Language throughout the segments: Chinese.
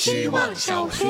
希望小学。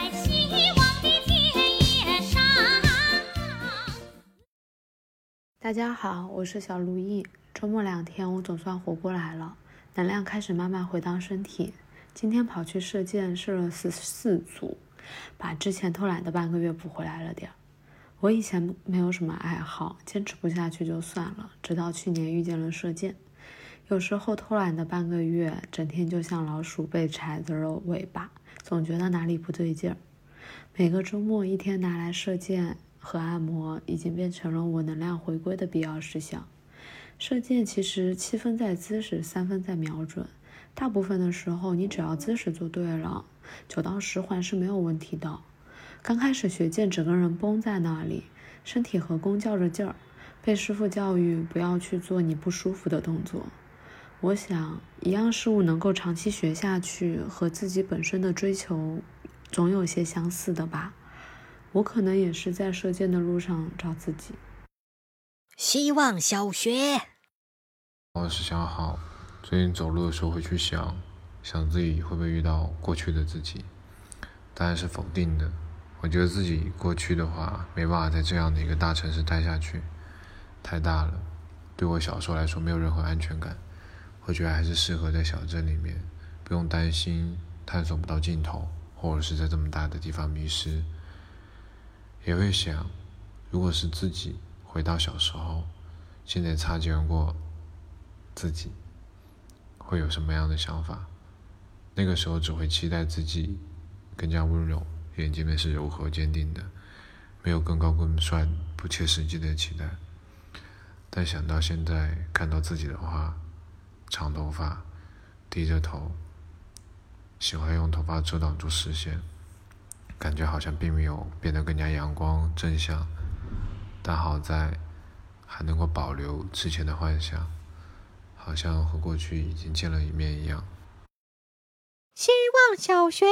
大家好，我是小如意。周末2天我总算活过来了，能量开始慢慢回到身体。今天跑去射箭，射了14组，把之前偷懒的半个月补回来了点。我以前没有什么爱好，坚持不下去就算了，直到去年遇见了射箭。有时候偷懒的半个月，整天就像老鼠被踩着了尾巴，总觉得哪里不对劲儿。每个周末一天拿来射箭和按摩，已经变成了我能量回归的必要事项。射箭其实7分在姿势，3分在瞄准。大部分的时候，你只要姿势做对了，9到10环是没有问题的。刚开始学箭，整个人绷在那里，身体和弓较着劲儿，被师傅教育不要去做你不舒服的动作。我想，一样事物能够长期学下去，和自己本身的追求总有些相似的吧。我可能也是在射箭的路上找自己。 希望小学。 我是小好，最近走路的时候会去想自己会不会遇到过去的自己，当然是否定的。我觉得自己过去的话没办法在这样的一个大城市待下去，太大了，对我小时候来说没有任何安全感。我觉得还是适合在小镇里面，不用担心探索不到尽头，或者是在这么大的地方迷失。也会想，如果是自己回到小时候，现在擦肩而过自己，会有什么样的想法？那个时候只会期待自己更加温柔，眼睛们是柔和坚定的，没有更高更帅不切实际的期待。但想到现在看到自己的话，长头发，低着头，喜欢用头发遮挡住视线，感觉好像并没有变得更加阳光正向，但好在还能够保留之前的幻想，好像和过去已经见了一面一样。 希望小学。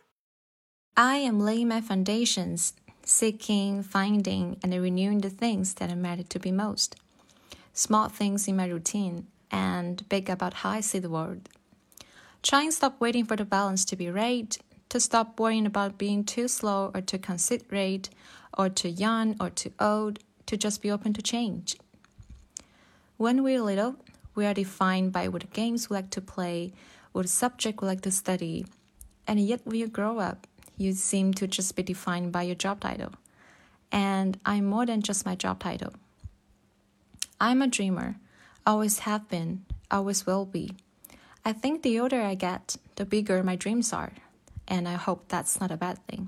I am laying my foundations, seeking, finding, and renewing the things that matter to be most. Small things in my routine, and big about how I see the world. Trying to stop waiting for the balance to be right, to stop worrying about being too slow or too considerate, or too young or too old, to just be open to change. When we're little, we are defined by what games we like to play, what subject we like to study, and yet when you grow up, you seem to just be defined by your job title. And I'm more than just my job title. I'm a dreamer, always have been, always will be. I think the older I get, the bigger my dreams are, and I hope that's not a bad thing.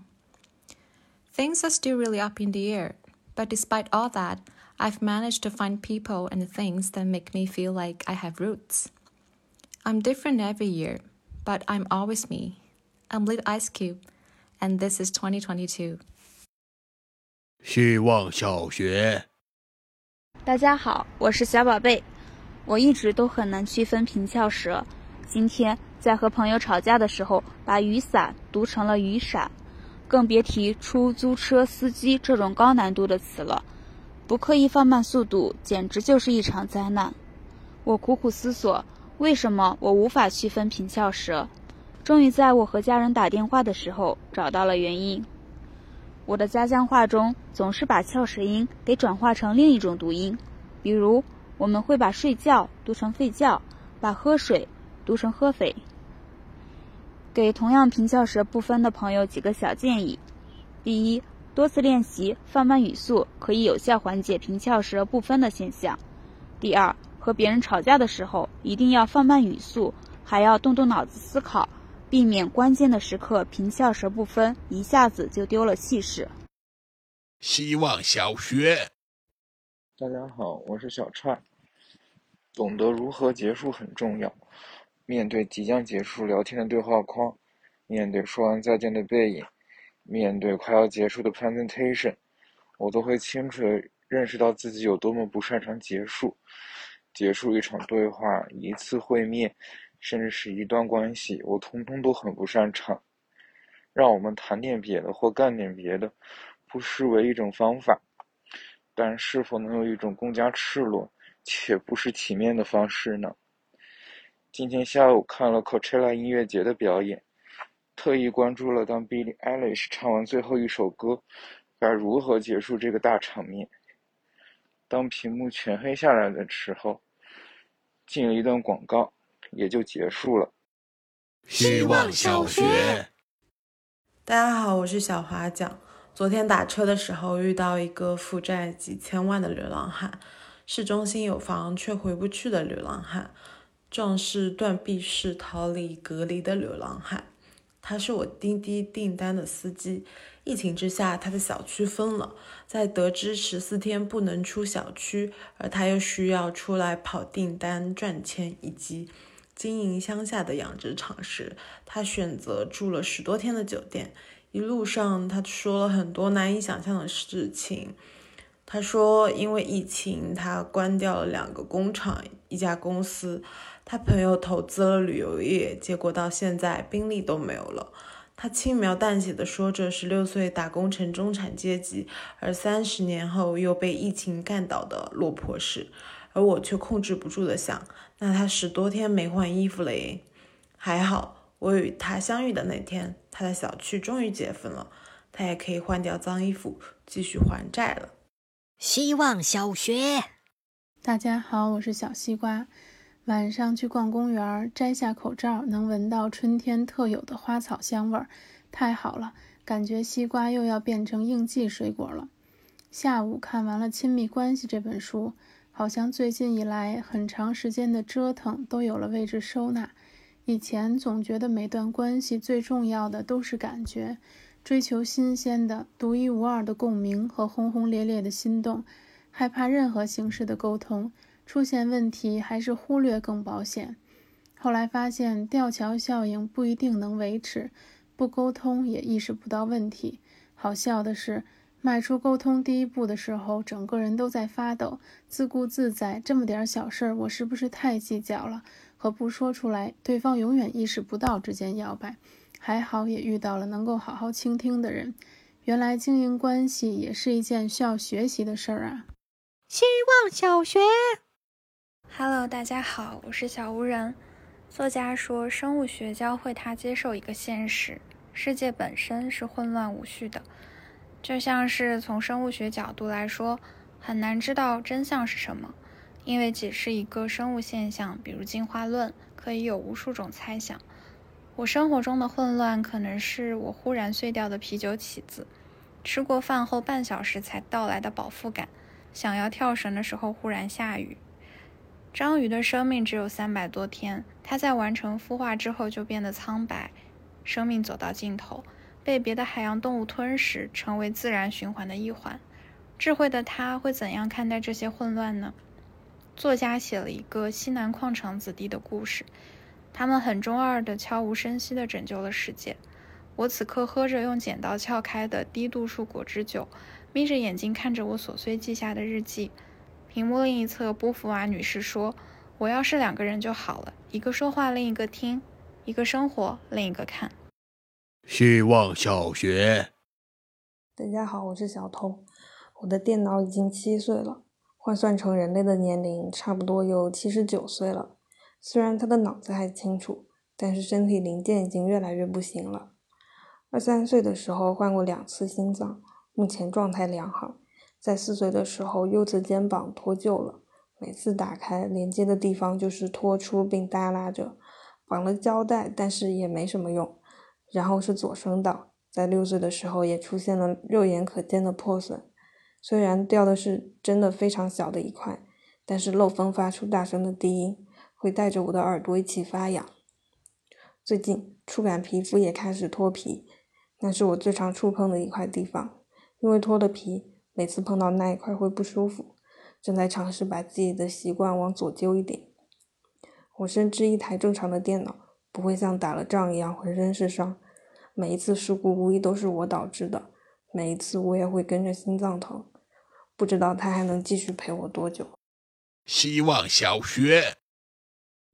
Things are still really up in the air, but despite all that, I've managed to find people and things that make me feel like I have roots. I'm different every year, but I'm always me. I'm Little Ice Cube, and this is 2022. 希望小学。 大家好，我是小宝贝。我一直都很难区分平翘舌，今天在和朋友吵架的时候，把雨伞读成了雨伞，更别提出租车司机这种高难度的词了。不刻意放慢速度，简直就是一场灾难。我苦苦思索，为什么我无法区分平翘舌？终于在我和家人打电话的时候找到了原因。我的家乡话中总是把翘舌音给转化成另一种读音，比如我们会把睡觉读成吠觉，把喝水读成喝匪。给同样平翘舌不分的朋友几个小建议：第一，多次练习放慢语速可以有效缓解平翘舌不分的现象。第二，和别人吵架的时候一定要放慢语速，还要动动脑子思考，避免关键的时刻平翘舌不分，一下子就丢了气势。 希望小学。 大家好，我是小踹。懂得如何结束很重要。面对即将结束聊天的对话框，面对说完再见的背影，面对快要结束的 presentation， 我都会清楚地认识到自己有多么不擅长结束。结束一场对话，一次会面，甚至是一段关系，我通通都很不擅长。让我们谈点别的或干点别的，不失为一种方法，但是否能有一种更加赤裸且不失体面的方式呢？今天下午看了 Coachella 音乐节的表演， 特意关注了当 Billie Eilish 唱完最后一首歌该如何结束这个大场面。当屏幕全黑下来的时候，进了一段广告，也就结束了。 希望小学。 大家好，我是小华讲。昨天打车的时候遇到一个负债几千万的流浪汉，市中心有房却回不去的流浪汉，壮士断臂式逃离隔离的流浪汉。他是我滴滴订单的司机，疫情之下他的小区封了，在得知14天不能出小区，而他又需要出来跑订单赚钱以及经营乡下的养殖场时，他选择住了10多天的酒店。一路上他说了很多难以想象的事情。他说因为疫情他关掉了2个工厂1家公司，他朋友投资了旅游业，结果到现在宾利都没有了。他轻描淡写地说着16岁打工成中产阶级，而30年后又被疫情干倒的落魄史。而我却控制不住地想，那他10多天没换衣服了耶。还好我与他相遇的那天，他的小区终于解封了，他也可以换掉脏衣服继续还债了。 希望小学。 大家好，我是小西瓜。晚上去逛公园，摘下口罩，能闻到春天特有的花草香味儿，太好了，感觉西瓜又要变成应季水果了。下午看完了《亲密关系》这本书，好像最近以来很长时间的折腾都有了位置收纳。以前总觉得每段关系最重要的都是感觉，追求新鲜的、独一无二的共鸣和轰轰烈烈的心动，害怕任何形式的沟通，出现问题还是忽略更保险。后来发现吊桥效应不一定能维持，不沟通也意识不到问题。好笑的是，迈出沟通第一步的时候，整个人都在发抖，自顾自在，这么点小事我是不是太计较了？和不说出来，对方永远意识不到之间摇摆。还好也遇到了能够好好倾听的人。原来经营关系也是一件需要学习的事儿啊。 希望小学。 Hello， 大家好，我是小无人。作家说，生物学教会他接受一个现实，世界本身是混乱无序的。就像是从生物学角度来说，很难知道真相是什么，因为解释一个生物现象，比如进化论，可以有无数种猜想。我生活中的混乱可能是我忽然碎掉的啤酒起子，吃过饭后半小时才到来的饱腹感，想要跳绳的时候忽然下雨。章鱼的生命只有300多天，它在完成孵化之后就变得苍白，生命走到尽头，被别的海洋动物吞噬，成为自然循环的一环。智慧的它会怎样看待这些混乱呢？作家写了一个西南矿场子弟的故事，他们很中二的悄无声息地拯救了世界。我此刻喝着用剪刀撬开的低度数果汁酒，眯着眼睛看着我琐碎记下的日记。屏幕另一侧，波伏娃女士说，我要是2个人就好了，一个说话，另一个听，一个生活，另一个看。 希望小学。 大家好，我是小偷。我的电脑已经7岁了，换算成人类的年龄，差不多有79岁了。虽然他的脑子还清楚，但是身体零件已经越来越不行了。23岁的时候换过2次心脏，目前状态良好。在4岁的时候，右侧肩膀脱臼了，每次打开连接的地方就是脱出并耷拉着，绑了胶带，但是也没什么用。然后是左声道，在6岁的时候也出现了肉眼可见的破损，虽然掉的是真的非常小的一块，但是漏风发出大声的低音，会带着我的耳朵一起发痒。最近触感皮肤也开始脱皮，那是我最常触碰的一块地方，因为脱了皮，每次碰到那一块会不舒服，正在尝试把自己的习惯往左揪一点。我深知一台正常的电脑不会像打了仗一样浑身是伤，每一次事故无疑都是我导致的，每一次我也会跟着心脏疼，不知道他还能继续陪我多久。 希望小学。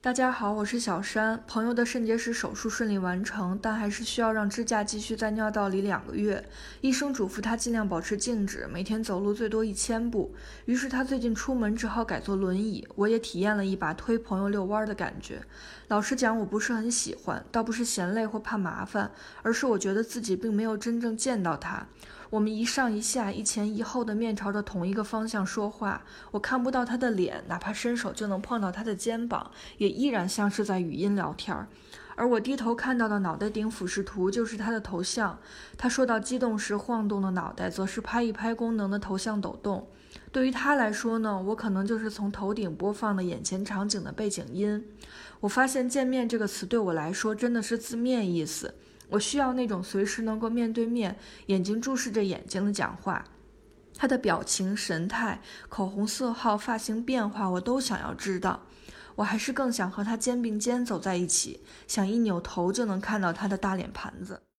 大家好，我是小山。朋友的肾结石手术顺利完成，但还是需要让支架继续在尿道里2个月。医生嘱咐他尽量保持静止，每天走路最多1000步。于是他最近出门只好改坐轮椅。我也体验了一把推朋友遛弯的感觉。老实讲，我不是很喜欢，倒不是嫌累或怕麻烦，而是我觉得自己并没有真正见到他。我们一上一下，一前一后的面朝着同一个方向说话，我看不到他的脸，哪怕伸手就能碰到他的肩膀，也依然像是在语音聊天。而我低头看到的脑袋顶俯视图就是他的头像，他说到激动时晃动的脑袋则是拍一拍功能的头像抖动。对于他来说呢，我可能就是从头顶播放的眼前场景的背景音。我发现见面这个词对我来说真的是字面意思，我需要那种随时能够面对面，眼睛注视着眼睛的讲话。他的表情、神态、口红色号、发型变化，我都想要知道。我还是更想和他肩并肩走在一起，想一扭头就能看到他的大脸盘子。